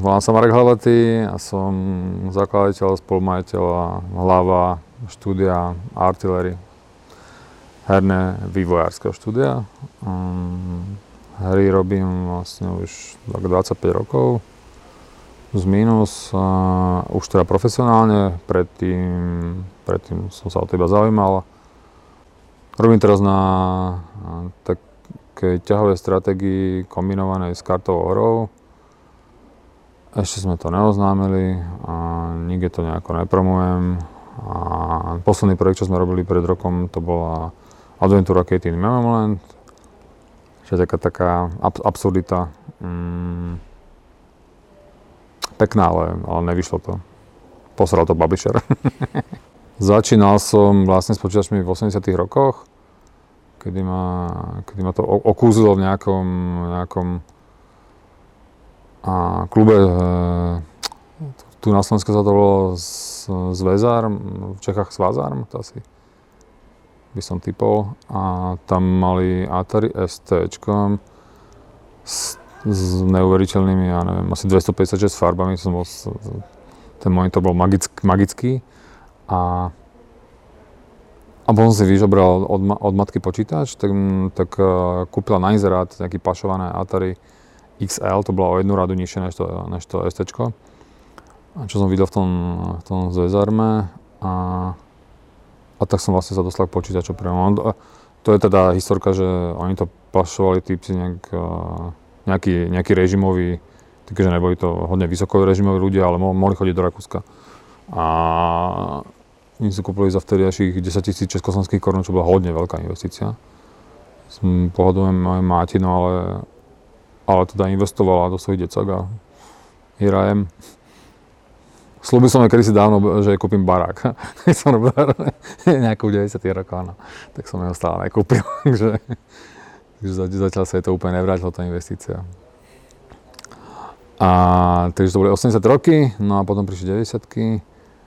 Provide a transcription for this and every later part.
volám sa Marek Hlavatý a som zakladateľ, spolumajiteľ a hlava štúdia Artillery, herné vývojárskeho štúdia. Hry robím vlastne už 25 rokov, z mínus, už teda profesionálne, predtým som sa o to iba zaujímal. Robím teraz na takej ťahovej stratégii kombinovanej s kartovou hrou. Ešte sme to neoznámili a nikde to nejako nepromujem. A posledný projekt, čo sme robili pred rokom, to bola Adventúra Katie in Memoryland, čo je taká absurdita. Pekná, ale nevyšlo to. Posral to publisher. Začínal som vlastne s počítačmi v 80 rokoch, kedy ma to okúzilo v nejakom klube. Tu na Slovensku sa to volalo Zväzarm, v Čechách Svazarm, to asi by som typol. A tam mali Atari STčkom s neuveriteľnými, ja neviem, asi 256 farbami. Ten monitor bol magický. A potom si vyžobral od matky počítač, tak kúpila na inzerát nejaký pašované Atari XL, to bolo o jednu radu nižšie než to STčko. Čo som videl v tom Zväzarme a tak som vlastne sa dostal k počítaču priamo. To je teda historka, že oni to pašovali typci nejaký režimový, takže neboli to hodne vysoko režimoví ľudia, ale mohli chodiť do Rakúska. A oni si kúpili za vtedajších 10 000 československých korún, čo bola hodne veľká investícia. Pohodujem moje mátino, ale teda investovala do svojich decák a hýrajem. Slúbil som aj kedysi dávno, že kúpim barák. Keď som robil nejakú 90 rokov, tak som ho stále nekúpil. Takže zatiaľ sa je to úplne nevrátilo, tá investícia. Takže to boli 80 roky, no a potom prišli 90-ky.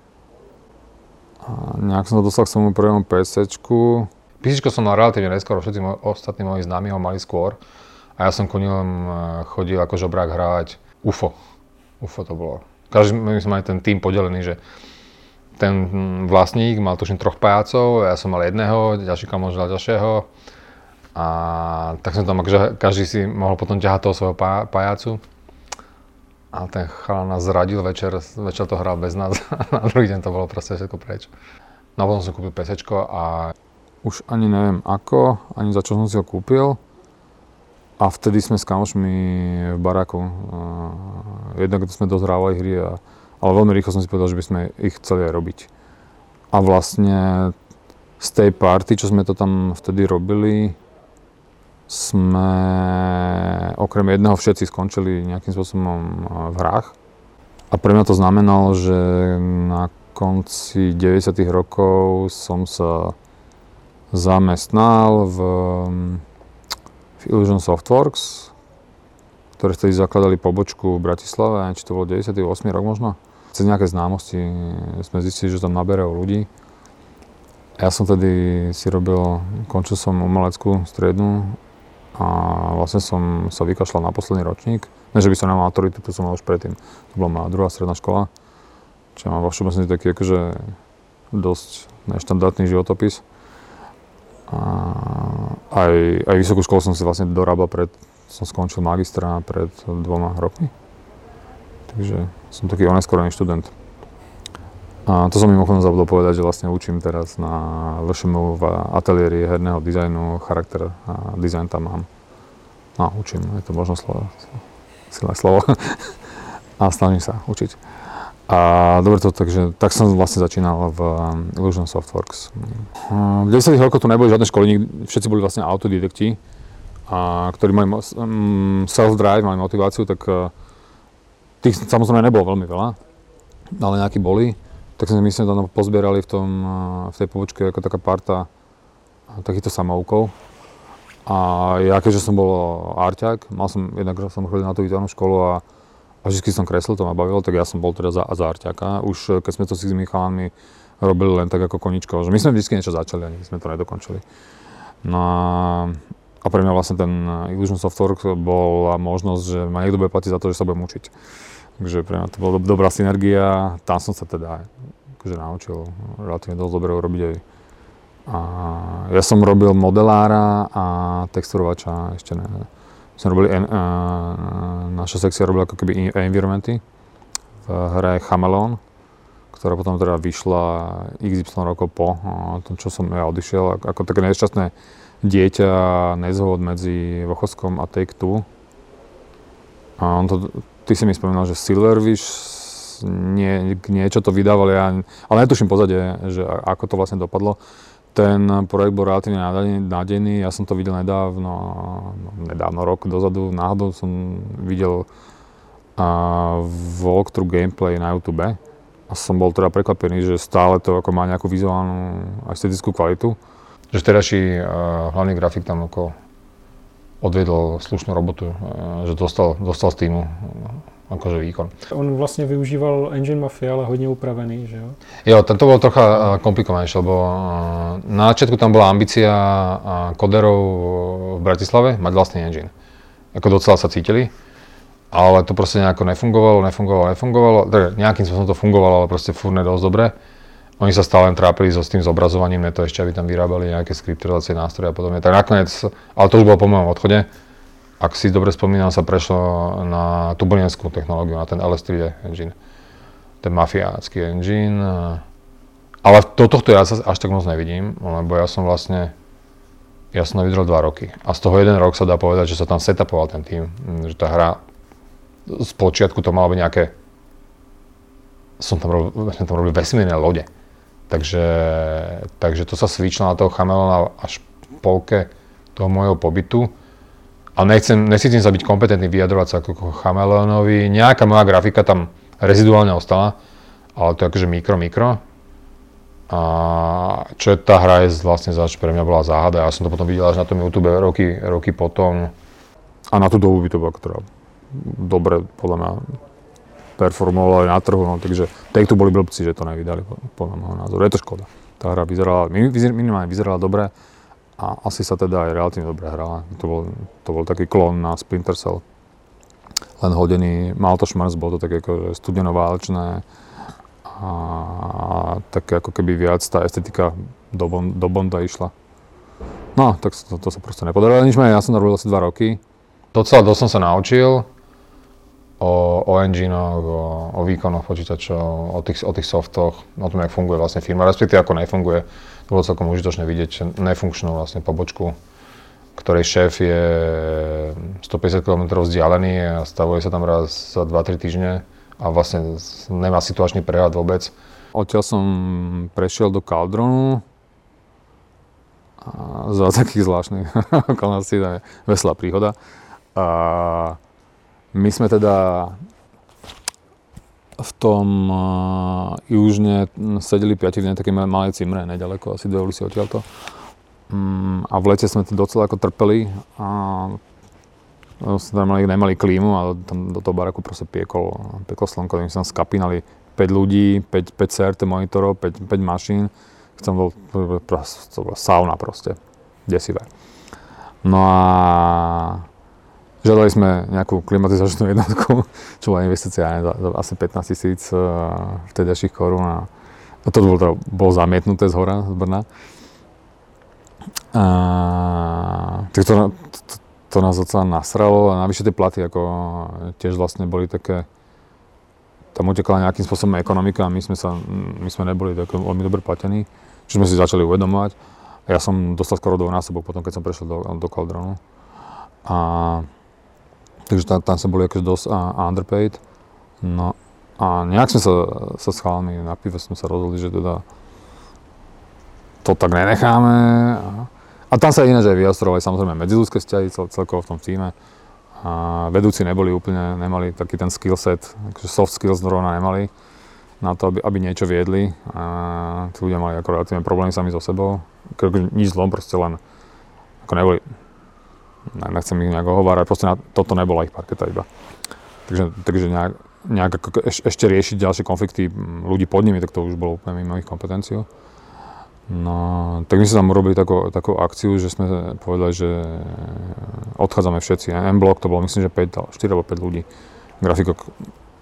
A nejak som sa dostal k svojmu prvému PCčku. PCčko som mal relatívne neskoro, všetci ostatní moji známi ho mali skôr. A ja som ku ním chodil ako žobrák hrávať UFO. UFO to bolo. My sme mali ten tým podelený, že ten vlastník mal tuším 3 pajácov, ja som mal jedného, ďalší kamoš mal ďalšieho. A tak som tam, každý si mohol potom ťahať toho svojho pajácu. A ten chalán nás zradil večer to hral bez nás a na druhý deň to bolo proste všetko preč. No a potom som kúpil PCčko a už ani neviem ako, ani za čo som si ho kúpil. A vtedy sme s kamošmi v baráku, jednak sme dozhrávali hry, ale veľmi rýchlo som si povedal, že by sme ich chceli aj robiť. A vlastne z tej party, čo sme to tam vtedy robili, sme okrem jedného všetci skončili nejakým spôsobom v hrách. A pre mňa to znamenalo, že na konci 90. rokov som sa zamestnal v Illusion Softworks, ktoré vtedy zakladali pobočku v Bratislave, či to bolo 98. rok možno. Cez nejaké známosti sme zistili, že tam naberajú ľudí. Ja som tedy končil som umeleckú strednú a vlastne som sa vykašľal na posledný ročník. Ne, že by som nemal maturitu, to som mal už predtým. To bola moja druhá stredná škola, čo mám vo všeobecnosti taký akože dosť neštandardný životopis. Aj vysokú školu som si vlastne dorábal som skončil magistra pred 2 rokmi. Takže som taký oneskorený študent. A to som mimochodom zabudol povedať, že vlastne učím teraz na VŠMU v ateliéri herného dizajnu, charakter a dizajn tam mám. No, učím, je to možno silné slovo. A snažím sa učiť. A dobre to, takže tak som vlastne začínal v Illusion Softworks. V 90. rokoch tu neboli žiadne školy, všetci boli vlastne autodidakti, ktorí mali self-drive, mali motiváciu, tak tých samozrejme nebolo veľmi veľa, ale nejakí boli. Tak sme myslím, tam pozbierali v tej pobočke ako taká parta takýchto samoukov. A ja keďže som bol arťák, jednak som chodil na tú výtvarnú školu a vždy som kreslil, to ma bavilo, tak ja som bol teda za arťáka. Už keď sme to s tými chalánmi robili len tak ako koničko, že my sme vždy niečo začali, ani sme to nedokončili. No a pre mňa vlastne ten Illusion Softworks bola možnosť, že ma niekto bude platiť za to, že sa budem učiť. Takže pre mňa to bola dobrá synergia. Tam som sa teda akože naučil relatívne dosť dobre urobiť aj. A ja som robil modelára a texturovača ešte ne. Naša sekcia robila ako keby environmenty v hre Chameleon, ktorá potom teda vyšla XY rokov po tom, čo som ja odišiel, ako také nešťastné dieťa, nezhod medzi Vochoskom a Take-Two. A ty si mi spomínal, že Silverwish niečo to vydávali, ale netuším pozadie, že ako to vlastne dopadlo. Ten projekt bol relatívne nádejný, ja som to videl nedávno, rok dozadu, náhodou som videl walkthrough gameplay na YouTube a som bol teda prekvapený, že stále to ako má nejakú vizuálnu a estetickú kvalitu. Že vtedajší hlavný grafik tam odvedol slušnú robotu, že dostal z týmu akože výkon. On vlastne využíval Engine Mafia, ale hodne upravený, že jo? Jo, to bolo trocha komplikovanejšie, lebo na začiatku tam bola ambícia koderov v Bratislave mať vlastný engine. Ako docela sa cítili, ale to proste nejako nefungovalo. Tak nejakým spôsobom to fungovalo, ale proste furt ne dosť dobre. Oni sa stále len trápili s tým zobrazovaním, to ešte, aby tam vyrábali nejaké skriptovacie nástroje a podobne. Tak nakoniec, ale to už bolo po mojom odchode. Ak si dobre spomínam, sa prešlo na turbulentskú technológiu, na ten LS3D engine. Ten mafiácky engine. Ale do tohto ja sa až tak moc nevidím, lebo ja som vydržal 2 roky. A z toho 1 rok sa dá povedať, že sa tam setupoval ten tým. Že tá hra, z počiatku to malo byť nejaké, som tam robil vesmírne lode. Takže to sa switchlo na toho Chameleona až v polke toho môjho pobytu. A necítim sa byť kompetentný vyjadrovať sa ako Chameleonovi. Nejaká moja grafika tam reziduálne ostala, ale to je akože mikro. A čo je tá hra je vlastne pre mňa bola záhada. Ja som to potom videl až na tom YouTube roky potom. A na tú dobu by to bolo teda dobre podľa mňa performovalo aj na trhu, takže Take-Two boli blbci, že to nevydali podľa môjho názoru. Je to škoda. Tá hra minimálne vyzerala dobre. A asi sa teda aj relatívne dobre hrala. To bol taký klon na Splinter Cell. Len hodený, mal to šmrc, bolo to také akože studeno-válečné a také ako keby viac tá estetika do Bonda išla. No, tak to sa proste nepodarilo. Ja som to robil asi 2 roky. Docela dosť som sa naučil o engine-och, o výkonoch počítačov, o tých softoch, o tom, jak funguje vlastne firma, respektíve ako nefunguje. To bolo celkom užitočné vidieť nefunkčnú vlastne pobočku, ktorej šéf je 150 km vzdialený a stavuje sa tam raz za 2-3 týždne a vlastne nemá situačný prehľad vôbec. Odtiaľ som prešiel do Cauldronu a za takých zvláštnych okolností, to je veselá príhoda. A my sme teda v tom južne sedeli 5 v takej malej cimre, nedaleko, asi 2 ulici odtiaľto. A v lete sme to docela ako trpeli a sme nemali klímu a tam do toho baraku proste pieklo slnko, my sme tam skapínali 5 ľudí, 5 CRT monitorov, 5 mašín. To bola sauna proste, desivé. No a žiadali sme nejakú klimatizačnú jednotku, čo bola investícia za asi 15 000 vtedajších korún a to bolo zamietnuté z hora, z Brna. Tak to nás docela nasralo a navyše tie platy ako tiež vlastne boli také, tam utekala nejakým spôsobom ekonomika a my sme neboli tak veľmi dobre platení, čo sme si začali uvedomovať. A ja som dostal skoro dvojnásobok potom, keď som prešiel do Cauldronu. Takže tam sa boli akože dosť underpaid. No a nejak sme sa s chalami na pive sme sa rozhodli, že teda to tak nenecháme. A tam sa ináč aj vyostrovali samozrejme medziľudské vzťahy celkovo v tom týme. A vedúci nemali taký ten skill set, akože soft skills zrovna nemali na to, aby niečo viedli. A tí ľudia mali ako relatívne problémy sami so sebou. Nič zlom, proste len ako neboli. Nechcem ich nejak ohovárať, proste toto nebola ich parketa iba. Takže nejak ako ešte riešiť ďalšie konflikty ľudí pod nimi, tak to už bolo úplne mimo ich kompetenciu. No, tak my sme tam urobili takú akciu, že sme povedali, že odchádzame všetci. M-Block to bolo myslím, že 4 alebo 5 ľudí. Grafikok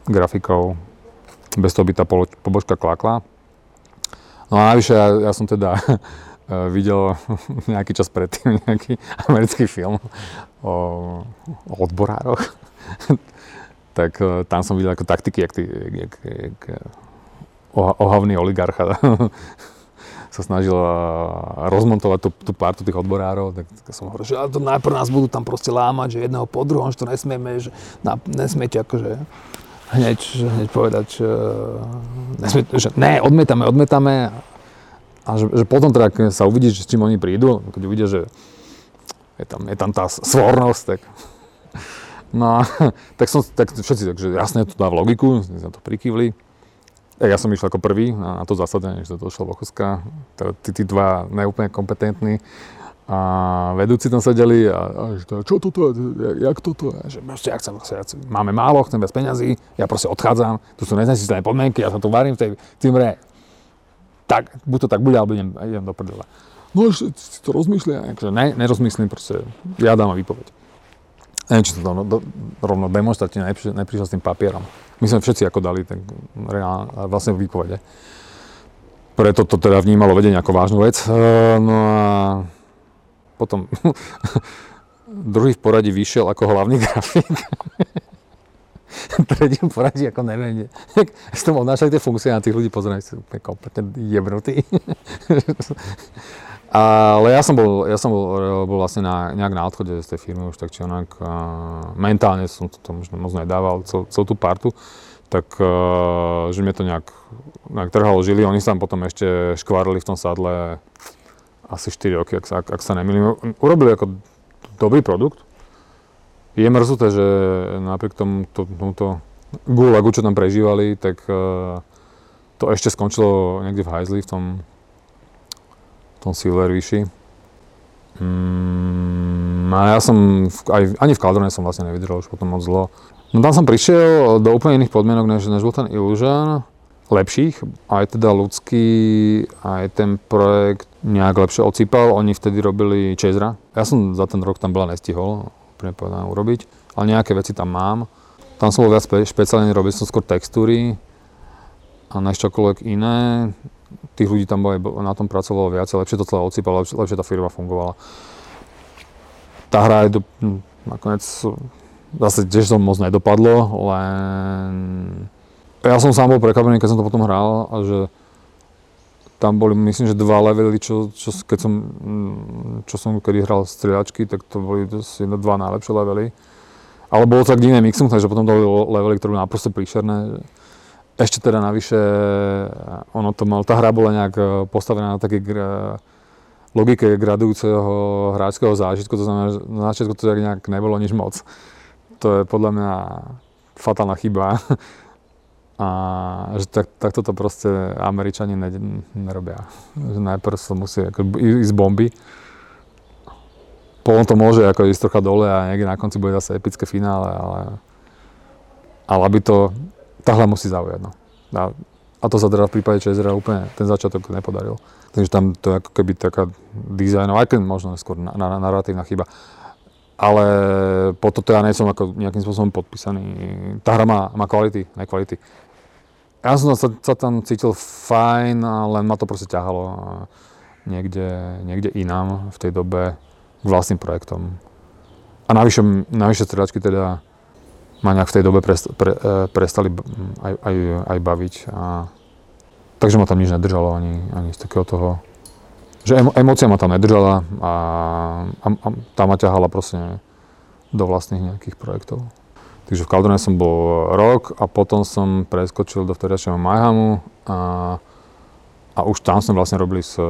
grafikou, bez toho by tá pobočka klakla. No a navyše ja som teda videl nejaký čas predtým nejaký americký film o odborároch. Tak tam som videl ako taktiky, jak ohavný oligarcha sa snažil rozmontovať tú partu tých odborárov. Tak som hovoril, že to najprv nás budú tam proste lámať, že jedného po druhom, že to nesmieme, že nesmiete akože hneď povedať, že ne, odmietame. A že potom teda, keď sa uvidí, že s čím oni prídu, keď uvidia, že je tam tá svornosť, tak no, tak všetci, takže jasne to dá v logiku, sme to prikývli. Ja som išiel ako prvý na to zasadenie, že to došlo Vochoska, tí dva neúplne kompetentní a vedúci tam sedeli a že čo toto, jak toto, že máme málo, chcem viac peňazí, ja proste odchádzam, tu sú neznesiteľné podmienky, ja sa tu varím v tej cimre. Tak, buď to tak bude, alebo idem do prdele. No ešte si to rozmýšľa, akože nerozmyslím, proste ja dám výpoveď. Neviem, či to rovno demonstratívne neprišiel s tým papierom. My sme všetci ako dali ten vlastne výpovede. Preto to teda vnímalo vedenie ako vážnu vec. No a potom druhý v poradí vyšiel ako hlavný grafik. Tretí v poradí ako neviem. S tom odnášali tie funkcie a tých ľudí pozerajú, sú úplne kompletne jebnutí. Ale ja som bol vlastne nejak na odchode z tej firmy už tak či onak. Mentálne som to možno moc nedával, celú tú partu. Tak, že mne to nejak trhalo žily. Oni sa tam potom ešte škvárili v tom sadle asi 4 roky, ak sa nemýlim. Urobili ako dobrý produkt. Je mrzuté, že napriek tomuto gulagu, čo tam prežívali, tak to ešte skončilo niekde v hajzli, v tom Silverfishi. A ja som ani v Caldrone som vlastne nevydržal už potom moc dlho. No tam som prišiel do úplne iných podmienok, než bol ten Illusion. Lepších, aj teda ľudský, aj ten projekt nejak lepšie ocípal. Oni vtedy robili Chasera. Ja som za ten rok tam veľa nestihol povedané urobiť, ale nejaké veci tam mám. Tam som bol viac špeciálne, robil som skôr textúry a než čokoľvek iné. Tých ľudí tam na tom pracovalo viac, lepšie to celé odsýpalo, lepšie tá firma fungovala. Tá hra je nakoniec zase tiež som moc nedopadlo, len ja som sám bol prekvapený, keď som to potom hral a že tam boli, myslím, že 2 levely, čo som kedy hral strieľačky, tak to boli 2 najlepšie levely. Ale bolo to tak divné mixum, takže potom to boli levely, ktoré boli naprosto príšerné. Ešte teda navyše, tá hra bola nejak postavená na takej logike gradujúceho hráčského zážitku, to znamená, že na začiatku to nejak nebolo nič moc. To je podľa mňa fatálna chyba. A že takto to proste Američani nerobia. Že najprv sa musí ísť bomby. Potom to môže ako ísť trocha dole a niekde na konci bude zase epické finále, ale aby to, tá hra musí zaujať. No. A to sa teda v prípade Chasera úplne ten začiatok nepodaril. Takže tam to je ako keby taká dizajnová, aj keď možno skôr narratívna chyba. Ale po toto ja nie som ako nejakým spôsobom podpísaný. Tá hra má kvality, nekvality. Ja som sa tam cítil fajn, len ma to proste ťahalo niekde inám v tej dobe k vlastným projektom. A navyše strieľačky teda ma nejak v tej dobe prestali aj baviť. Takže ma tam nič nedržalo ani z takého toho, že emócia ma tam nedržala a tá ma ťahala proste do vlastných nejakých projektov. Takže v Caldrone som bol rok a potom som preskočil do vtedajšieho Mayhemu a už tam sme vlastne robili s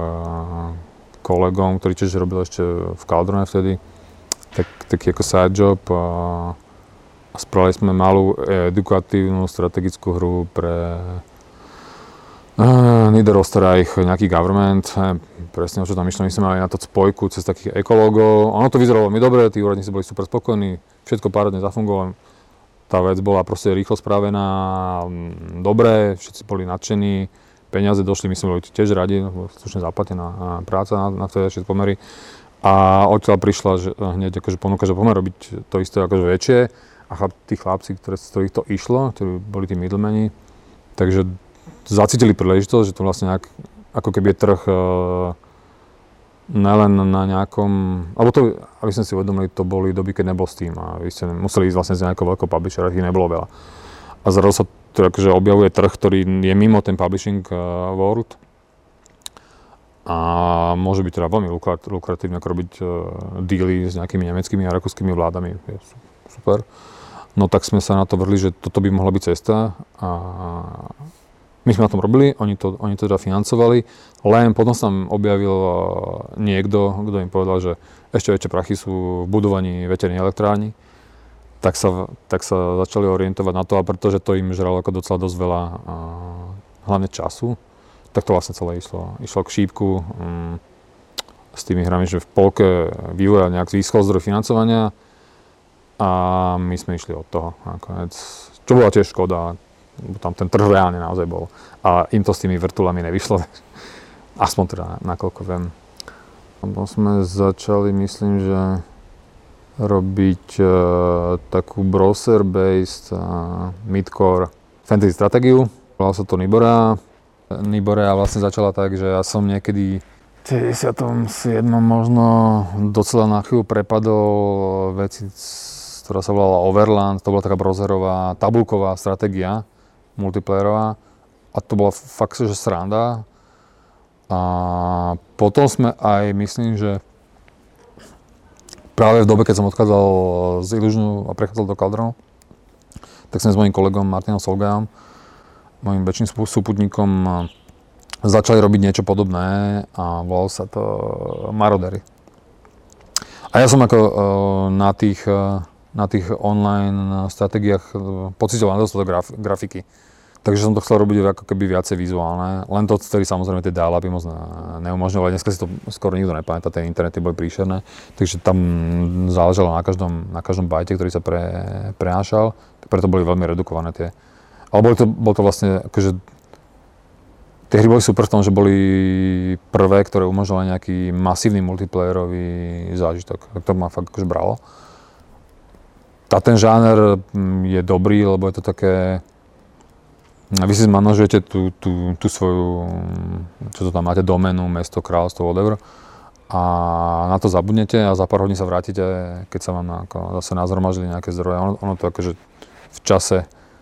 kolegom, ktorý tiež robil ešte v Caldrone vtedy, taký ako side job a spravili sme malú edukatívnu strategickú hru pre Niederösterreich, nejaký government, presne o čo tam išlo, my sme mali na to spojku cez takých ekológov. Ono to vyzeralo veľmi dobre, tí úradníci boli super spokojní, všetko párhodne zafungovalo. Tá vec bola proste rýchlo spravená, dobre, všetci boli nadšení, peniaze došli, my sme boli tiež radi, slušne zaplatená práca na vtedajšie pomery. A odtiaľ prišla hneď akože ponuka, že poďme robiť to isté akože väčšie a tí chlapci, z ktorých to išlo, ktorí boli tí middlemani, takže zacítili príležitosť, že to vlastne ako keby je trh nelen na nejakom, alebo to, aby sme si uvedomili, to boli doby, keď nebol Steam a vy ste museli ísť vlastne z nejakého veľkého publishera, ich nebolo veľa. A zrazu sa to akože objavuje trh, ktorý je mimo ten publishing world a môže byť teda veľmi lukratívne ako robiť dealy s nejakými nemeckými a rakúskymi vládami. Je super. No tak sme sa na to vrhli, že toto by mohla byť cesta a my sme na tom robili, oni to teda financovali, len potom sa tam objavil niekto, kto im povedal, že ešte väčšie prachy sú v budovaní veterných elektrární. Tak sa začali orientovať na to, a pretože to im žralo ako docela dosť veľa hlavne času, tak to vlastne celé išlo k šípku s tými hrami, že v polke vývoja nejak získal zdroj financovania a my sme išli od toho nakoniec, čo bola tiež škoda. Tam ten trh reálne naozaj bol. A im to s tými vrtulami nevyšlo. Aspoň teda, nakoľko viem. Potom sme začali, myslím, že robiť takú browser-based midcore fantasy stratégiu. Volalo sa to Nibora. Nibora vlastne začala tak, že ja som niekedy v 97. možno docela na chvíľu prepadol veci, ktorá sa volala Overland. To bola taká browserová, tabulková stratégia multiplayerová a to bola fakt, že sranda. A potom sme aj, myslím, že práve v dobe, keď som odchádzal z Illusionu a prechádzal do Caldronu, tak sme s mojím kolegom Martinom Solgajom, mojím väčším súputníkom, začali robiť niečo podobné a volalo sa to Marodery. A ja som ako na tých online stratégiách pocitoval nedostatok grafiky. Takže som to chcel robiť ako keby viacej vizuálne. Len to, ktorý samozrejme tie dial-upy moc neumožňovali. Dneska si to skoro nikto nepamätá, tie internety boli príšerné. Takže tam záležalo na každom bajte, ktorý sa prenášal. Preto boli veľmi redukované tie. Ale bol to vlastne akože tie hry boli super v tom, že boli prvé, ktoré umožňovali nejaký masívny multiplayerový zážitok. Tak to ma fakt akože bralo. A ten žáner je dobrý, lebo je to také. Vy si zmanažujete tú svoju, čo to tam máte, doménu, mesto, kráľovstvo, whatever. A na to zabudnete a za pár hodín sa vrátite, keď sa vám zase nazhromaždili nejaké zdroje. Ono to akože v čase,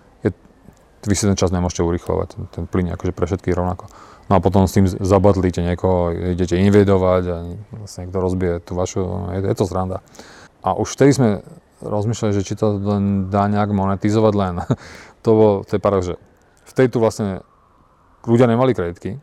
vy si ten čas nemôžete urýchlovať, ten plynie akože pre všetkých rovnako. No a potom s tým zabatlíte niekoho, idete invadovať a vlastne niekto rozbije tú vašu, je to sranda. A už vtedy sme rozmýšľali, že či to len dá nejak monetizovať len. To je paradox, že vtedy tu vlastne ľudia nemali kreditky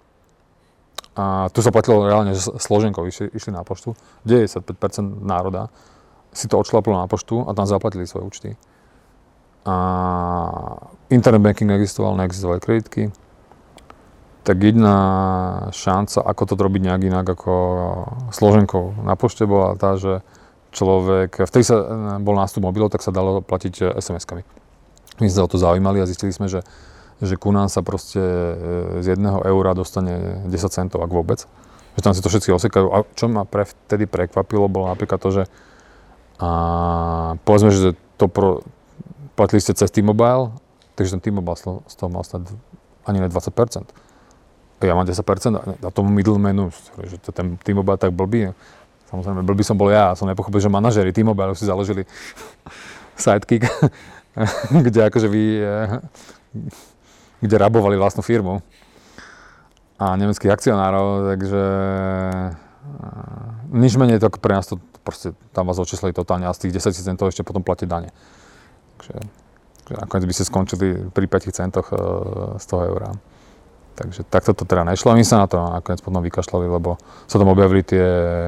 a tu sa platilo reálne, že složenkou išli na poštu. 95% národa si to odšlaplo na poštu a tam zaplatili svoje účty. A internet banking neexistovali kreditky. Tak jediná šanca, ako to robiť nejak inak ako složenkou na pošte bola tá, že človek, vtedy sa bol nástup mobilov, tak sa dalo platiť SMS-kami. My sme sa o to zaujímali a zistili sme, že ku nám sa proste z 1 eura dostane 10 centov, ak vôbec. Že tam si to všetci osekajú. A čo ma vtedy prekvapilo, bolo napríklad to, že povedzme, že platili ste cez T-Mobile, takže ten T-Mobile z toho mal snad ani ne 20%. Ja mám 10% a tomu middlemanu, že ten T-Mobile tak blbý. Samozrejme, blbý som bol ja, som nepochopil, že manažéri T-Mobile si založili sidekick, kde rabovali vlastnú firmu a nemeckých akcionárov, takže nič menej to pre nás to proste tam vás očíslili totálne a z tých 10 centov ešte potom platiť dane. Takže nakoniec by ste skončili pri 5 centoch z toho eura. Takže takto to teda nešlo a my sa na to nakoniec potom vykašľali, lebo sa tam objavili tie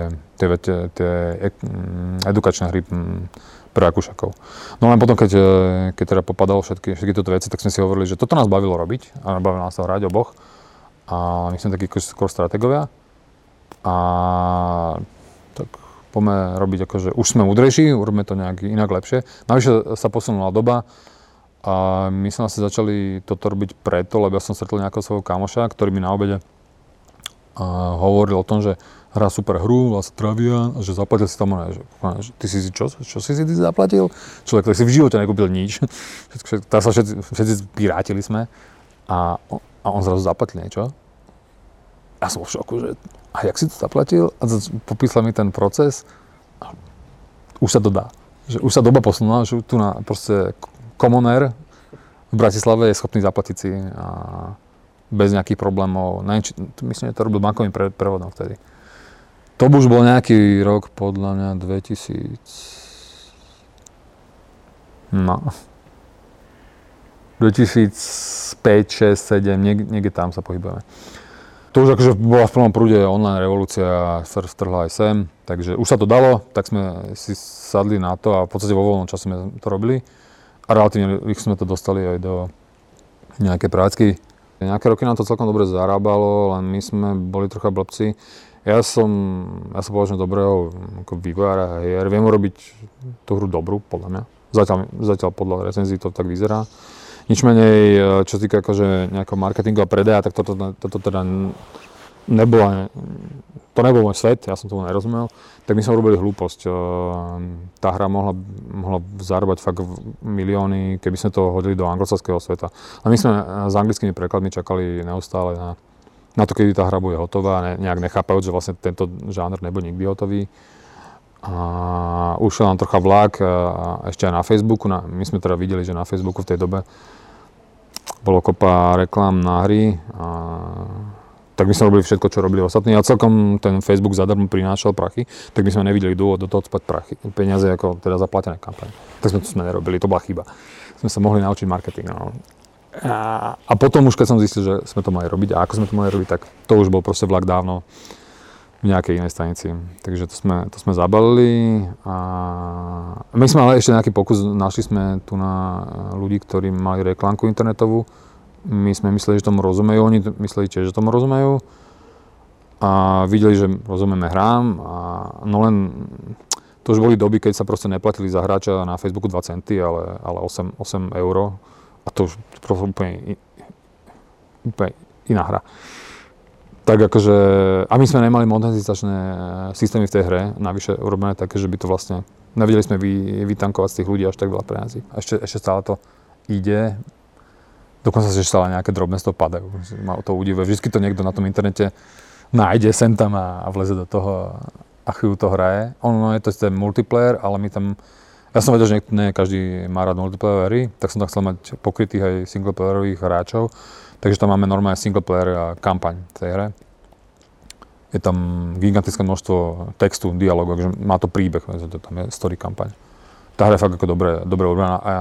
edukačné hry pre akúšakov. No len potom, keď teda popadalo všetky tieto veci, tak sme si hovorili, že toto nás bavilo robiť a bavilo nás to hrať oboch. A my sme takí skôr stratégovia. A tak poďme robiť akože už sme múdrejší, urobíme to nejak inak lepšie. Navyše sa posunula doba. A my sme asi začali toto robiť preto, lebo ja som stretol nejakého svojho kamoša, ktorý mi na obede hovoril o tom, že hrá super hru, volá sa Travian, a že zaplatil si tam, že ty si čo si ty zaplatil? Človek, ktorý si v živote nekúpil nič. Tak sa všetci pirátili sme a on zrazu zaplatil niečo. Ja som v šoku, že a jak si to zaplatil? A popísal mi ten proces a už sa to dá. Že už sa doba posunula, že tu na proste Common Air v Bratislave je schopný zaplatiť si a bez nejakých problémov. Myslím, že to robil bankovým prevodom vtedy. To už bol nejaký rok, podľa mňa 2000... No. 2005, 6, 7, niekde tam sa pohybujeme. To už akože bola v plnom prúde online revolúcia, strhla aj sem, takže už sa to dalo, tak sme si sadli na to a v podstate vo voľnom čase sme to robili. A relatívne rýchlo sme to dostali aj do nejakej prácky. Nejaké roky nám to celkom dobre zarábalo, len my sme boli trocha blbci. Ja som považujem dobrého ako vývojára hier, viem urobiť tú hru dobrú, podľa mňa. Zatiaľ podľa recenzií to tak vyzerá. Nič menej, čo týka akože nejakého marketingu a predaja, tak toto teda to nebol môj svet, ja som tomu nerozumel. Tak my sme robili hlúposť. Tá hra mohla zarábať fakt milióny, keby sme to hodili do anglosaského sveta. A my sme s anglickými prekladmi čakali neustále na to, kedy tá hra bude hotová, nejak nechápajúc, že vlastne tento žáner nebude nikdy hotový. A ušiel nám trocha vlak ešte aj na Facebooku. My sme teda videli, že na Facebooku v tej dobe bolo kopa reklám na hry. Tak my sme robili všetko, čo robili ostatní. A celkom ten Facebook zadarmo prinášal prachy, tak my sme nevideli dôvod do toho spať peniaze ako teda zaplatené kampaň. Tak sme nerobili, to bola chyba. Sme sa mohli naučiť marketing. No. A potom už keď som zistil, že sme to mali robiť a ako sme to mali robiť, tak to už bol proste vlak dávno v nejakej inej stanici. Takže to sme zabalili a my sme ale ešte nejaký pokus, našli sme tu na ľudí, ktorí mali reklamku internetovú. My sme mysleli, že tomu rozumejú, oni mysleli tiež, že tomu rozumejú a videli, že rozumieme hrám, no len to už boli doby, keď sa proste neplatili za hráča na Facebooku 2 centy, ale 8 euro a to už úplne iná hra. Tak akože, a my sme nemali monetizačné systémy v tej hre, navyše urobené také, že by to vlastne, nevedeli sme vytankovať z tých ľudí až tak veľa peniazí. A ešte stále to ide, dokonca sa stále nejaké drobné z toho padajú, ma to udivuje. Vždycky to niekto na tom internete nájde sem tam a vleze do toho a chvíľu to hraje. Ono je to ten multiplayer, ale my tam, ja som vedel, že nie každý má rád multiplayer hry, tak som tam chcel mať pokrytých aj singleplayerových hráčov. Takže tam máme normálne singleplayer a kampaň v tej hre. Je tam gigantické množstvo textu, dialogov, takže má to príbeh, tam je story kampaň. Tá hra je fakt ako dobre urobená a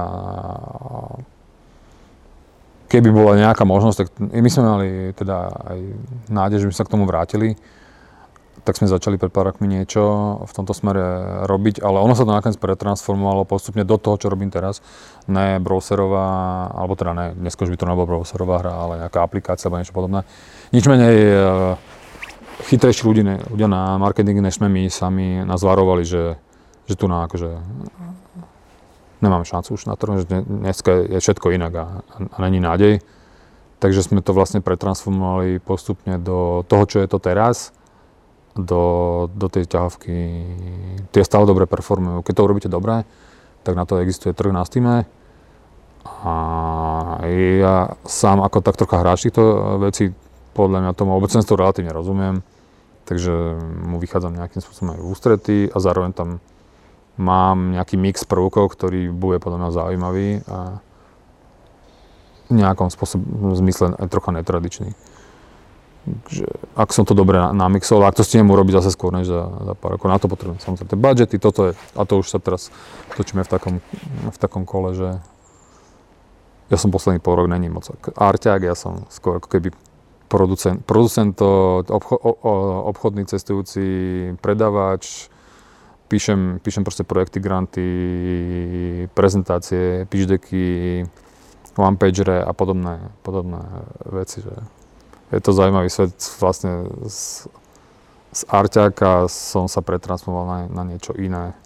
keby bola nejaká možnosť, tak my sme mali teda aj nádej, že by sa k tomu vrátili. Tak sme začali pred pár rokmi niečo v tomto smere robiť, ale ono sa to nakoniec pretransformovalo postupne do toho, čo robím teraz. Ne browserová, alebo teda ne, dnes už by to nebola browserová hra, ale nejaká aplikácia alebo niečo podobné. Nič menej chytrejší ľudia na marketingu, než sme my sami nás varovali, že tu na akože nemáme šancu už na to, že dneska je všetko inak a není nádej. Takže sme to vlastne pretransformovali postupne do toho, čo je to teraz. Do tej ťahovky. Tie stále dobre performujú. Keď to urobíte dobre, tak na to existuje trh na Steame. A ja sám ako tak trocha hráč týchto vecí, podľa mňa tomu obecenstvu relatívne rozumiem. Takže mu vychádzam nejakým spôsobom aj v ústretí a zároveň tam mám nejaký mix prvkov, ktorý bude podľa mňa zaujímavý a v nejakom zmysle aj trocha netradičný. Takže ak som to dobre namixoval, ak to stihnem urobiť zase skôr než za pár rokov, na to potrebujem samozrejme tie budžety, toto je, a to už sa teraz točíme v takom kole, že ja som posledný pol rok není moc arťák, ja som skôr ako keby producent, obchodný cestujúci, predávač, píšem proste projekty, granty, prezentácie, pitch decky, one-pagere a podobné veci, že je to zaujímavý svet, vlastne z arťáka som sa pretransformoval na niečo iné.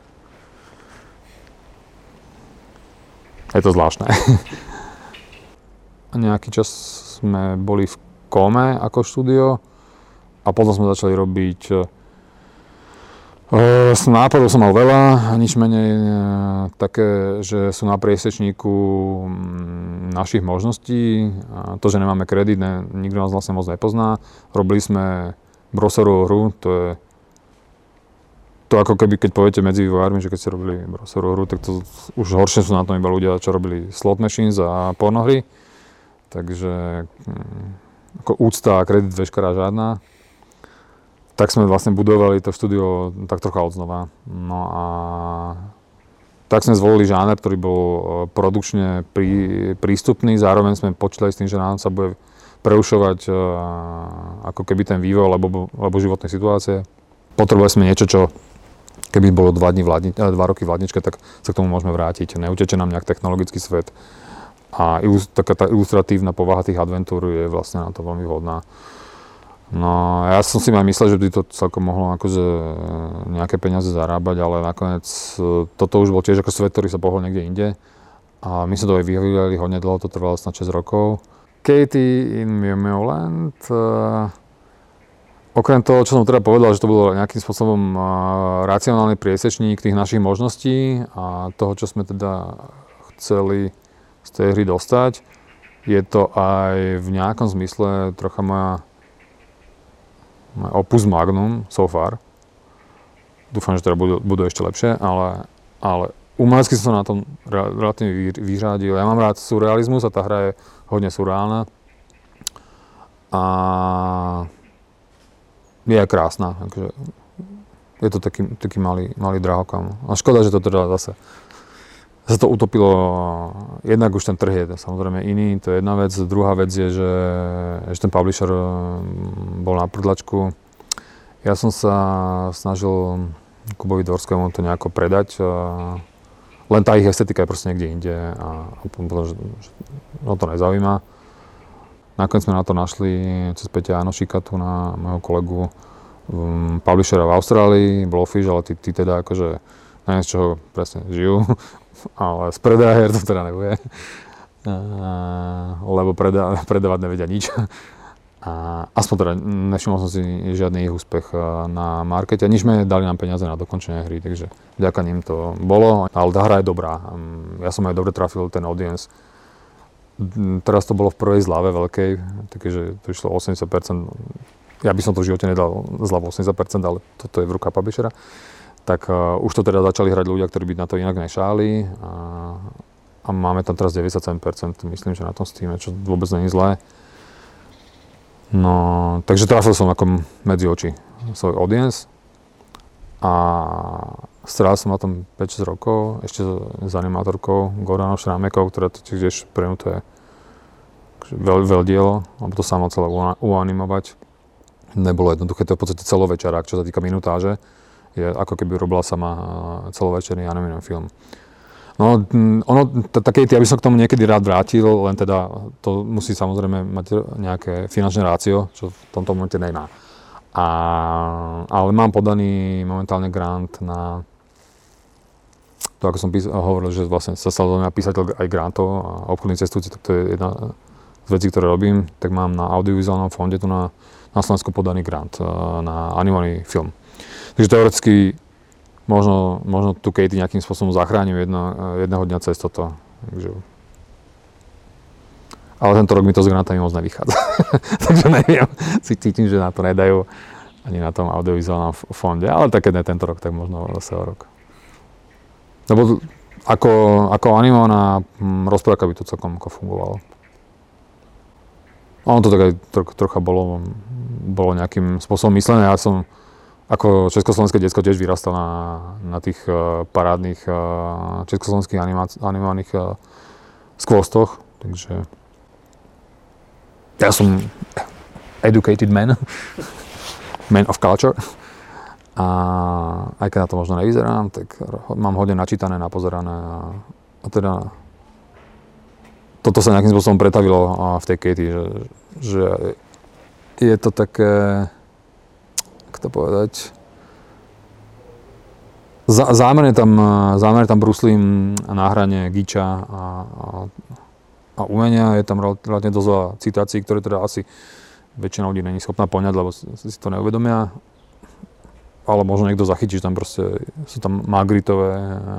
Je to zvláštne. Nejaký čas sme boli v Kome ako štúdio A potom sme začali robiť, nápadov som mal veľa, nič menej také, že sú na priesečníku našich možností. A to, že nemáme kredit, nikto nás vlastne moc nepozná. Robili sme browserovú hru, to je to ako keby, keď poviete medzi vývojármi, že keď ste robili browserovú hru, tak to už horšie sú na tom iba ľudia, čo robili slot machines a pornohry. Takže ako úcta a kredit veškerá žiadna. Tak sme vlastne budovali to štúdio tak trocha odznova. No a tak sme zvolili žáner, ktorý bol produkčne prístupný, zároveň sme počítali s tým, že nám sa bude prerušovať ako keby ten vývoj alebo životné situácie. Potrebovali sme niečo, čo keby bolo 2 roky v hladničke, tak sa k tomu môžeme vrátiť. Neuteče nám nejak technologický svet. A taká tá ilustratívna povaha tých adventúr je vlastne na to veľmi vhodná. No, ja som si aj myslel, že by to celkom mohlo akože nejaké peniaze zarábať, ale nakoniec toto už bol tiež ako svet, ktorý sa pohol niekde inde. A my sme to aj vyvíjali hodne dlho, to trvalo snad 6 rokov. Katie in Mioland. Okrem toho, čo som teda povedal, že to bolo nejakým spôsobom racionálny priesečník tých našich možností a toho, čo sme teda chceli z tej hry dostať, je to aj v nejakom zmysle trocha moja opus magnum so far. Dúfam, že teda budú ešte lepšie, ale umelecky som sa na tom relatívne vyřádil. Ja mám rád surrealizmus a tá hra je hodne surreálna. A je aj krásna. Takže je to taký malý drahokam. A škoda, že to teda zase sa to utopilo. Jednak už ten trh je samozrejme iný, to je jedna vec. Druhá vec je, že ten publisher bol na prdlačku. Ja som sa snažil Kubovi Dvorskému to nejako predať. Len tá ich estetika je proste niekde inde a potom, že to nezaujíma. Nakoniec sme na to našli cez Peťa Janošíka, tu na môjho kolegu publishera v Austrálii, Blowfish, ale tí teda akože neviem, z čoho presne žijú, ale z predaja to teda nebude, lebo predávať nevedia nič. A aspoň teda nevšimol som si žiadny ich úspech na markete. Nič sme dali nám peniaze na dokončenie hry, takže vďaka ním to bolo, ale tá hra je dobrá. Ja som aj dobre trafil ten audience. Teraz to bolo v prvej zľave veľkej, takže to išlo 80%. Ja by som to v živote nedal zľavu 80%, ale toto je v rukách publishera. Tak už to teda začali hrať ľudia, ktorí by na to inak nešáli. A máme tam teraz 97%, myslím, že na tom Steame, čo vôbec nie je zlé. No, takže trafil som ako medzi oči svoj audience. A strávil som na tom 5-6 rokov, ešte s animátorkou Gordanou Šrámekou, ktorá to tiež pre mňa to je veľ dielo, lebo to samo celé uanimovať. Nebolo jednoduché, to je v podstate celovečerák, čo sa týka minutáže. Je ako keby robila sama celovečerný animovaný film. No, také, ja by som k tomu niekedy rád vrátil, len teda to musí samozrejme mať nejaké finančné rácio, čo v tomto momente nemá. Ale mám podaný momentálne grant na to, ako som hovoril, že vlastne sa stal písateľ aj grantov a obchodný cestujúci, tak to je jedna z vecí, ktoré robím. Tak mám na audiovizuálnom fonde tu na Slovensku podaný grant na animovaný film. Takže teoreticky možno tu Katie nejakým spôsobom zachránim jedného dňa cez toto. Takže. Ale tento rok mi to s grantami moc nevychádza. Takže neviem, si cítim, že na to nedajú ani na tom audiovizuálnom fonde. Ale tak keď ne tento rok, tak možno zase o rok. Lebo ako animovaná rozprávka by to celkom fungovalo. Ono to tak aj trocha bolo nejakým spôsobom myslené. Ja som ako československé decko tiež vyrastal na tých parádnych československých animovaných skvostoch, takže ja som educated man of culture. A aj keď na to možno nevyzerám, tak mám hodne načítané, napozerané a teda toto sa nejakým spôsobom pretavilo v tej Katie, že je to také, ako to povedať, zámerne tam bruslím na hrane giča a umenia, je tam relatívne dosť veľa citácií, ktoré teda asi väčšina ľudí není schopná poňať, lebo si to neuvedomia. Ale možno niekto zachytí, že tam proste sú tam Magritové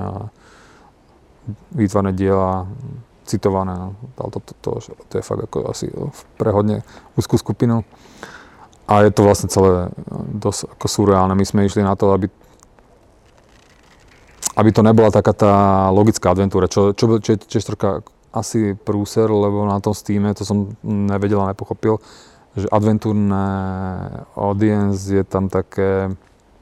výtvarné diela, citované. To je fakt ako asi pre hodne úzkú skupinu. A je to vlastne celé dosť ako surreálne. My sme išli na to, aby to nebola taká tá logická adventúra, čo je tiež trocha asi prúser, lebo na tom Steame, to som nevedel a nepochopil, že adventúrne audience je tam také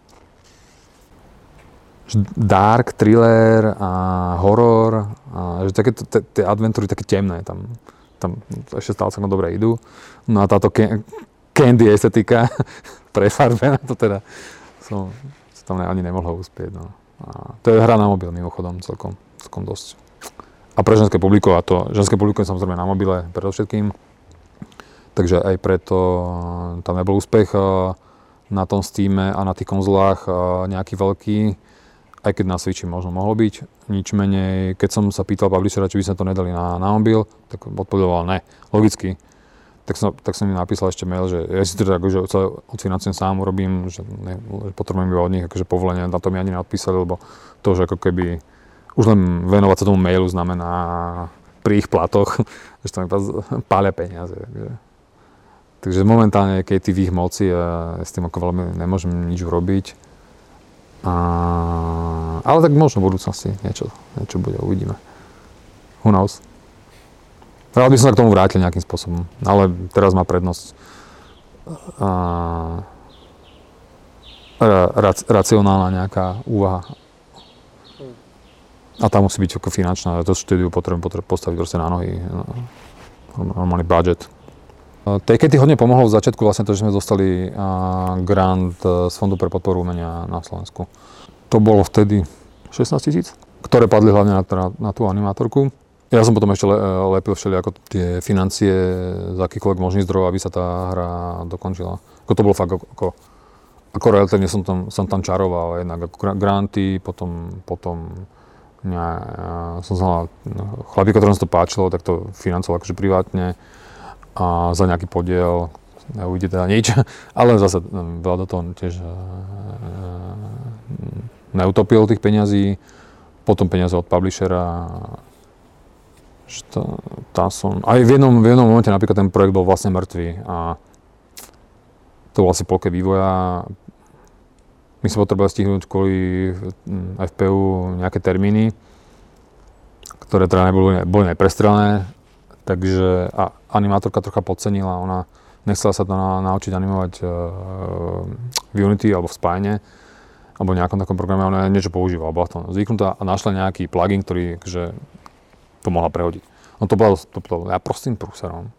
dark, thriller a horor, a že také tie adventúry také temné, tam ešte stále celkom dobre idú. No a táto candy estetika prefarbená, to teda som tam ani nemohol uspieť. No. A to je hra na mobil mimochodom celkom dosť. A pre ženské publikum, a to ženské publikum je samozrejme na mobile predovšetkým, takže aj preto tam nebol úspech na tom Steame a na tých konzolách nejaký veľký. Aj keď na Switchi možno mohlo byť, nič menej. Keď som sa pýtal publishera, či by sme to nedali na mobil, tak odpovedal ne, logicky. Tak som im napísal ešte mail, že ja si to akože odfinancujem sám, urobím, že potrebujem iba od nich akože povolenie, na to mi ani neodpísali, lebo to, že ako keby už len venovať sa tomu mailu znamená pri ich platoch, že tam iba pália peniaze. Takže momentálne, keď je v ich moci, ja s tým ako veľmi nemôžem nič urobiť. Ale tak možno v budúcnosti niečo bude, uvidíme. Who knows? Rád by som sa k tomu vrátil nejakým spôsobom, ale teraz má prednosť racionálna nejaká úvaha. A tá musí byť ako finančná, to štúdiu potrebujem postaviť proste na nohy, normálny budget. Tej Katy hodne pomohlo v začiatku vlastne to, že sme dostali grant z Fondu pre podporu umenia na Slovensku. To bolo vtedy 16 000, ktoré padli hlavne na tú animátorku. Ja som potom ešte lepil všelijako tie financie z akýchkoľvek možných zdrojov, aby sa tá hra dokončila. Ako to bolo fakt ako relatívne som tam čaroval, jednak ako granty, potom som znal chlapíka, ktorom sa to páčilo, tak to financoval akože privátne. A za nejaký podiel neujde teda nič, ale zase veľa do toho tiež neutopil tých peňazí, potom peniaze od publishera, aj v jednom momente napríklad ten projekt bol vlastne mŕtvý a to bol asi polke vývoja. My sme potrebovali stihnúť kvôli FPU nejaké termíny, ktoré teda boli neprestrelené. Takže animátorka trocha podcenila, ona nechcela sa to naučiť animovať v Unity alebo v Spine alebo v nejakom takom programe, ona niečo používala, bola to zvyknutá a našla nejaký plugin, ktorý akože to mohla prehodiť. No to bolo ja prostým prúserom.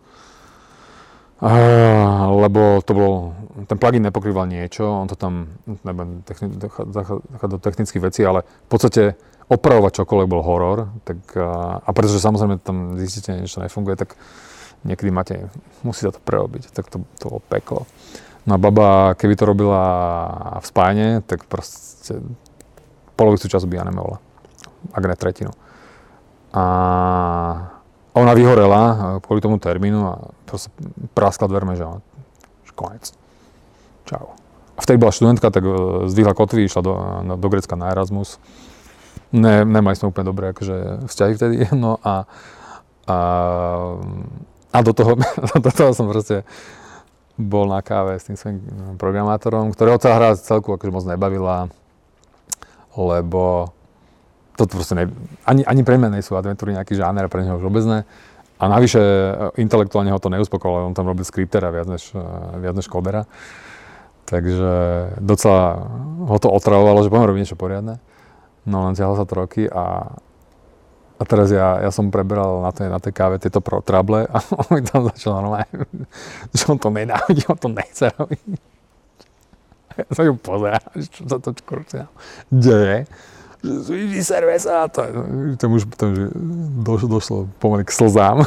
Lebo to bolo, ten plugin nepokrýval niečo, on to tam, nebudem do technických vecí, ale v podstate opravovať čokoľvek bol horor, tak, a pretože samozrejme tam zistíte, niečo nefunguje, tak niekedy musí sa to prerobiť, tak to bolo peklo. No a baba, keby to robila v Spine, tak proste polovicu času by animovala, ak ne tretinu. A ona vyhorela kvôli tomu termínu a proste praskla dverme, že konec. Čau. A vtedy bola študentka, tak zdvihla kotvy, išla do Grécka na Erasmus. Nemali sme úplne dobré akože vzťahy vtedy, no a do toho som proste bol na káve s tým svojím programátorom, ktorého tá hra celku akože moc nebavila, lebo to proste ani pre mňa nie sú adventúry nejaký žáner, pre neho už vôbec ne. A navyše intelektuálne ho to neuspokojilo, on tam robil skriptera viac než kodera. Takže docela ho to otravovalo, že poďme robiť niečo poriadne. No len ťahlo sa to roky a teraz ja som preberal na tej káve tieto trable a on mi tam začal normálne, že on to nenávidí, on to nechce robiť. Ja sa ju pozerám, čo sa to deje. Vyserve sa, tam už došlo pomaly k slzám.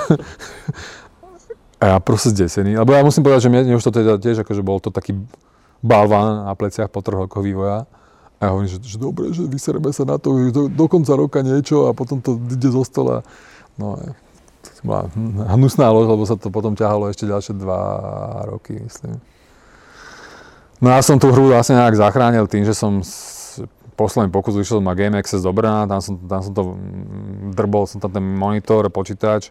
A ja proste zdesený, lebo ja musím povedať, že mne už to teda tiež akože bol to taký balván na pleciach po 3 rokoch vývoja. A ja hovorím, že dobre, že vysereme sa na to do konca roka niečo a potom to ide zo stola. No, bola hnusná lož, lebo sa to potom ťahalo ešte ďalšie 2 roky, myslím. No ja som tú hru vlastne nejak zachránil tým, že som posledný pokus vyšiel ma Game Access do Brna, tam som to drbol, som tam ten monitor, počítač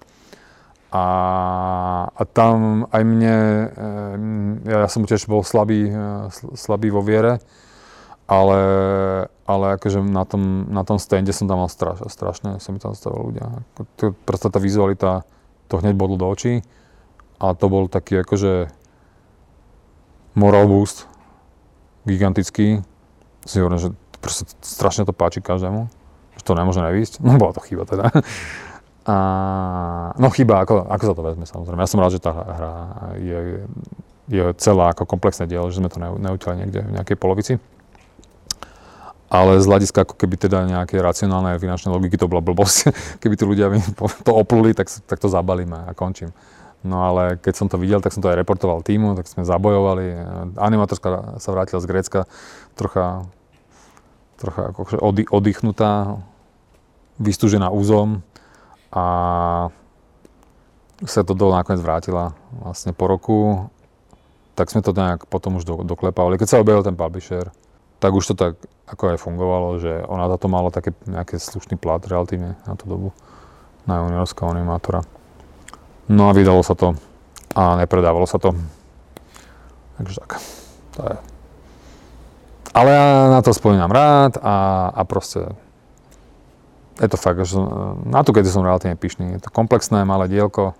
a tam aj mne, ja som tiež bol slabý vo viere, ale akože na tom stande som tam mal strašne sa mi tam stavili ľudia. Proste tá vizualita, to hneď bodlo do očí a to bol taký akože moral boost, gigantický. Si hovorím, že proste strašne to páči každému, že to nemôže nevísť. No bola to chyba teda. No chyba, ako sa to vezme samozrejme. Ja som rád, že tá hra je celá ako komplexné dielo, že sme to neutiali niekde v nejakej polovici. Ale z hľadiska ako keby teda nejaké racionálne finančné logiky to bola blbosť. Keby tí ľudia to opluli, tak to zabalíme a končím. No ale keď som to videl, tak som to aj reportoval týmu, tak sme zabojovali. Animátorka sa vrátila z Grécka trocha akože oddychnutá, vystúžená úzom a sa to nakoniec vrátila vlastne po roku. Tak sme to nejak potom už doklepávali. Keď sa objavil ten publisher, tak už to tak ako aj fungovalo, že ona za to mala také nejaký slušný plat relatívne na tú dobu, na juniorského animátora. No a vydalo sa to a nepredávalo sa to. Takže tak, to je. Ale ja na to spomínam rád a proste je to fakt, že na to, keď som relatívne pyšný. Je to komplexné, malé dielko.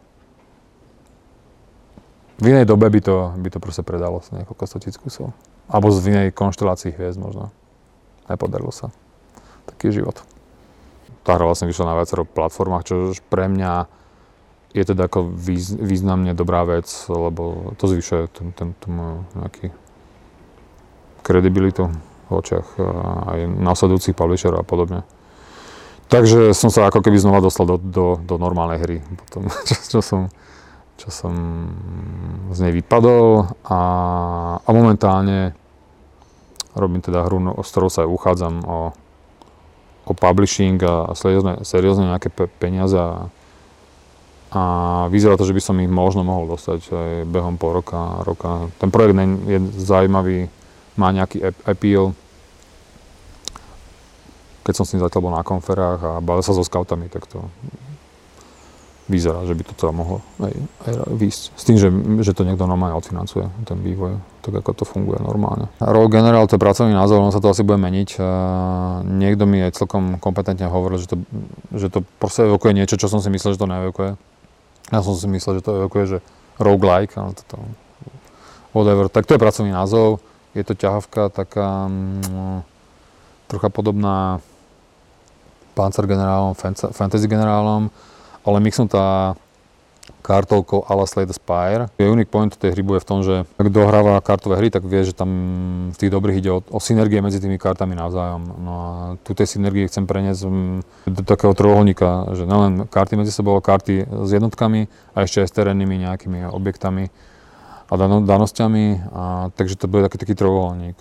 V inej dobe by to proste predalo sa niekoľko 100 000 kusov. Alebo v inej konštelácii hviezd možno. Nepodarilo sa. Taký je život. Tá hra vlastne vyšla na viacero platformách, čo pre mňa je teda ako významne dobrá vec, lebo to zvyšuje tú moju nejaký kredibilitu v očiach aj následujúcich publisherov a podobne. Takže som sa ako keby znova dostal do normálnej hry potom, čo som z nej vypadol a momentálne robím teda hru, s ktorou sa aj uchádzam o publishing a seriózne nejaké peniaze a vyzerá to, že by som ich možno mohol dostať aj behom pol roka. Ten projekt je zaujímavý, má nejaký appeal. Keď som s ním zatiaľ bol na konferách a bavil sa so scoutami, tak to vyzerá, že by to teda mohlo aj výjsť. S tým, že to niekto normálne odfinancuje, ten vývoj, tak ako to funguje normálne. Role General, to je pracovný názov, on sa to asi bude meniť. Niekto mi aj celkom kompetentne hovoril, že to proste evokuje niečo, čo som si myslel, že to neevokuje. Ja som si myslel, že to evokuje, že roguelike, ale toto whatever. Tak to je pracovný názov, je to ťahavka taká trocha podobná Panzer generálom, Fantasy generálom, ale mixnutá kartovkou a la Slay the Spire. Unique point tej hry bude v tom, že ak dohráva kartové hry, tak vie, že tam v tých dobrých ide o synergie medzi tými kartami navzájom. No a tu tej synergie chcem preniesť do takého trojuholníka, že nielen karty medzi sebou, ale karty s jednotkami a ešte aj s terénnymi nejakými objektami a danosťami. Takže to bude taký trojuholník.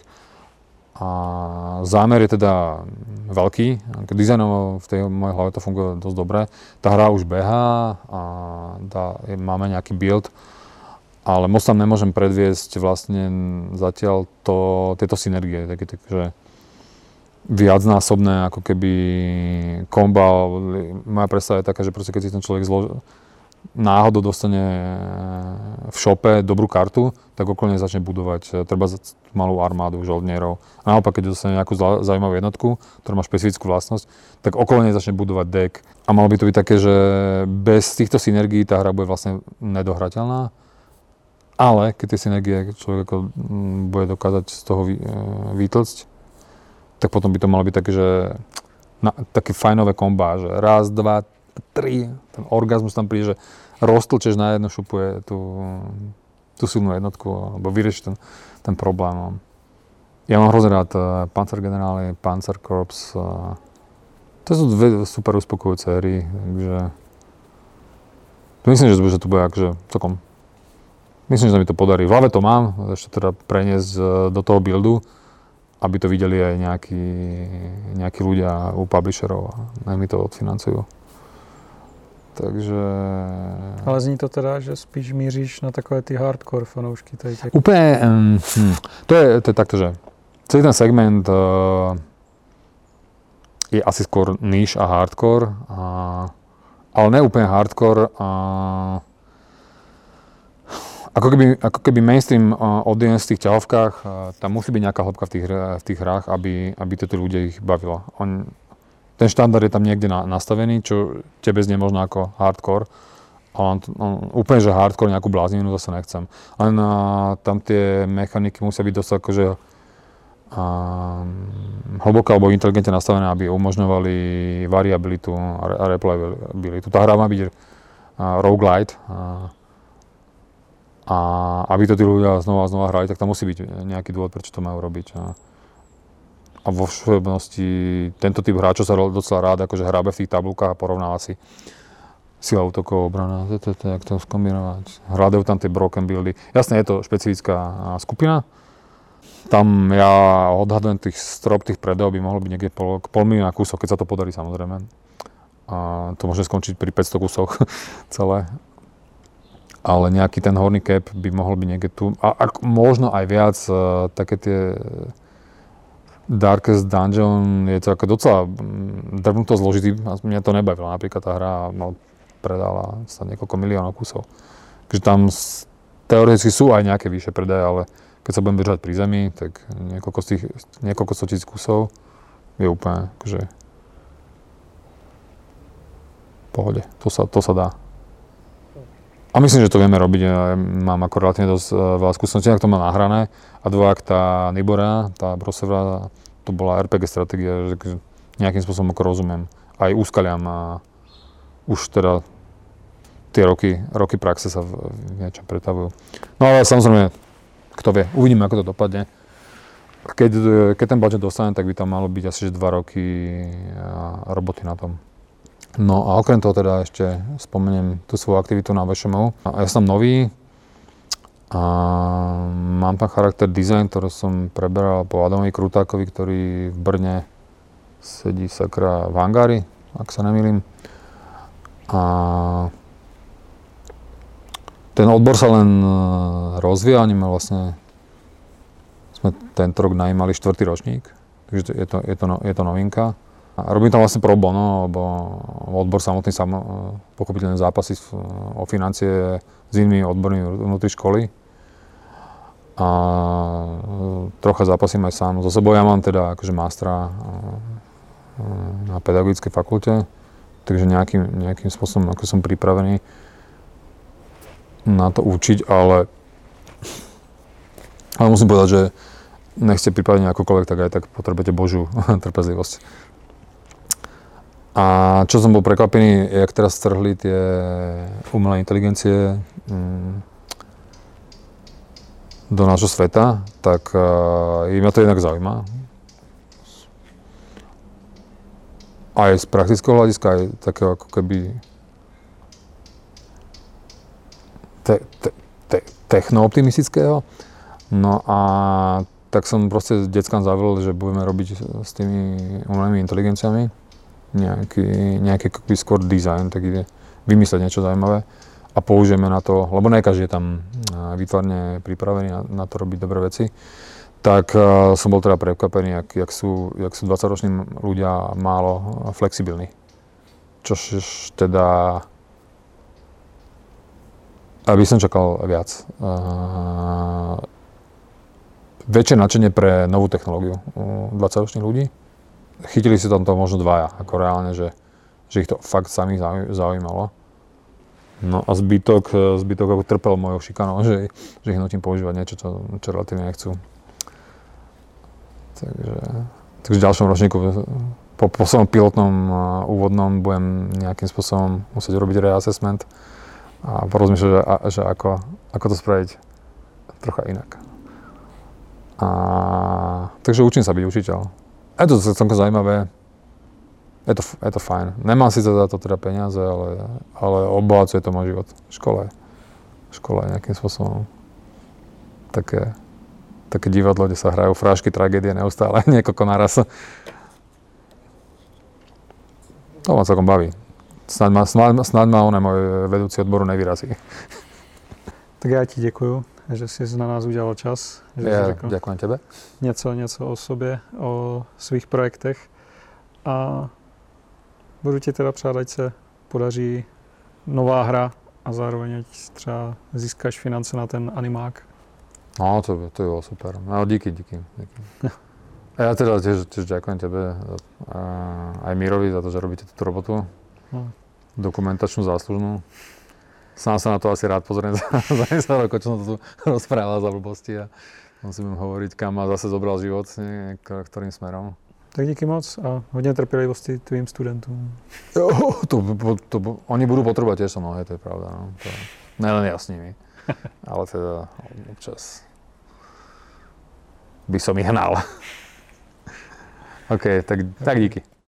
A zámer je teda veľký, dizajnovo v tej mojej hlave to funguje dosť dobre. Tá hra už behá a máme nejaký build, ale moc tam nemôžem predviesť vlastne zatiaľ tieto synergie, takže viacnásobné ako keby komba. Moja predstava je taká, že proste keď si ten človek náhodou dostane v shope dobrú kartu, tak okolo nej začne budovať treba malú armádu žoldnierov. A naopak, keď dostane nejakú zaujímavú jednotku, ktorá má špecifickú vlastnosť, tak okolo nej začne budovať deck. A malo by to byť také, že bez týchto synergií tá hra bude vlastne nedohrateľná. Ale keď tie synergie človek bude dokázať z toho vytlcť, tak potom by to malo byť také, že také fajnové kombá, že raz, dva, 3, ten orgazmus tam príde, že roztlčeš na jednu šupu tú silnú jednotku, alebo vyriešiš ten problém. Ja mám hrozne rád Panzer Generály, Panzer Corps. To sú dve super uspokojujúce hry, takže myslím, že to bude akože celkom. Myslím, že sa mi to podarí. V hlave to mám, ešte teda preniesť do toho buildu, aby to videli aj nejakí ľudia u publisherov a nech mi to odfinancujú. Takže... Ale zní to teda, že spíš míříš na takové ty hardcore fanoušky. Úplne, to je takto, že celý ten segment je asi skôr niche a hardcore, ale ne úplne hardcore. Ako keby mainstream audience v tých ťahovkách, tam musí byť nejaká hĺbka v tých hrách, aby tí ľudia ich bavilo. Ten štandard je tam niekde nastavený, čo tebe znie možno ako hardcore, ale úplne, že hardcore nejakú bláznivinu zase nechcem. Len tam tie mechaniky musia byť dosť akože hlboké alebo inteligentne nastavené, aby umožňovali variabilitu a replayabilitu. Tá hra má byť roguelite, a aby to tí ľudia znova hrali, tak tam musí byť nejaký dôvod, prečo to majú robiť. A vo všeobecnosti tento typ hráčov sa docela rád akože hrábe v tých tabulkách a porovnáva si sila útokov, obrana, jak to skombinovať. Hľadajú tam tie broken buildy. Jasne, je to špecifická skupina. Tam ja odhadujem strop tých predajov by mohlo byť niekde pol milióna kusov, keď sa to podarí samozrejme. A to môže skončiť pri 500 kusoch celé. Ale nejaký ten horný cap by mohol byť niekde tu. A možno aj viac, také tie Darkest Dungeon je to ako docela drbnuto zložitý. Mňa to nebavilo. Napríklad tá hra predala sa niekoľko miliónov kusov. Takže tam teoreticky sú aj nejaké vyššie predaje, ale keď sa budem držať pri zemi, tak niekoľko 100 000 kusov je úplne akože v pohode. To sa dá. A myslím, že to vieme robiť. Ja mám ako relatívne dosť veľa skúseností, ak to mám nahrané. A dvojak tá Nibora, tá Brosevra, to bola RPG stratégia, že nejakým spôsobom ako rozumiem. Aj úskaliam a už teda tie roky praxe sa v niečom pretavujú. No ale samozrejme, kto vie, uvidíme, ako to dopadne. Keď ten budget dostane, tak by tam malo byť asi 2 roky roboty na tom. No a okrem toho teda ešte spomeniem tú svoju aktivitu na VŠMU. Ja som nový a mám tam charakter design, ktorý som preberal po Adamovi Krutákovi, ktorý v Brne sedí sakra v hangári, ak sa nemýlim. A ten odbor sa len rozvíja, oni ma vlastne sme tento rok najímali 4. ročník, takže je to novinka. A robím tam vlastne pro bono, lebo odbor samotný pochopiteľne zápasí o financie s inými odbormi vnútri školy. A trocha zápasím aj sám. So sebou ja mám teda akože mástra na pedagogickej fakulte, takže nejakým spôsobom ako som pripravený na to učiť, ale musím povedať, že nech ste pripravení akokoľvek, tak aj tak potrebujete Božiu trpezlivosť. A čo som bol prekvapený, jak teraz strhli tie umelé inteligencie do nášho sveta, tak mňa to jednak zaujíma. Aj z praktického hľadiska, aj takého ako keby techno-optimistického. No a tak som proste deckám zavolal, že budeme robiť s tými umelými inteligenciami nejaký skôr design, tak ide vymyslieť niečo zaujímavé a použijeme na to, lebo ne každý je tam výtvarne pripravený na to robiť dobré veci, tak som bol teda prekvapený, jak sú 20-roční ľudia málo flexibilní. Čož teda aby som čakal viac. Väčšie nadšenie pre novú technológiu u 20-ročných ľudí. Chytili si tam to možno dvaja, ako reálne, že ich to fakt samých zaujímalo. No a zbytok ako trpel mojou šikanou, že ich nutím používať niečo, čo relatívne nechcú. Takže v ďalšom ročníku, po svojom pilotnom úvodnom budem nejakým spôsobom musieť robiť reassessment a porozmýšľať, že ako to spraviť trocha inak. Takže učím sa byť učiteľ. Je to celkom zaujímavé, je to fajn. Nemám síce za to teda peniaze, ale obohacuje to môj život. Škola je nejakým spôsobom také divadlo, kde sa hrajú frášky, tragédie neustále, niekoľko naraz. To ma celkom baví. Snad ma on môj vedúci odboru nevyrazí. Tak já ti děkuju, že jsi na nás udělal čas. Že Ja jsi řekl ďakujem tebe. něco o sobě, o svých projektech. A budu ti teda přát, ať se podaří nová hra a zároveň ať třeba získáš finance na ten animák. No, to by bolo super. No, díky. A ja teda tiež ďakujem tebe a aj Mírovi za to, že robíte túto robotu. No. Dokumentačnú, záslužnú. Sám sa na to asi rád pozriem za 10 rokov, čo som to tu rozprával za blbosti a musím hovoriť, kam ma zase zobral život, ktorým smerom. Tak díky moc a hodně trpělivosti tvým studentům. Jo, oni budú potrebovať tiež so mnou, to je pravda. No. Nelen ja s nimi, ale teda občas by som ich hnal. OK, tak díky.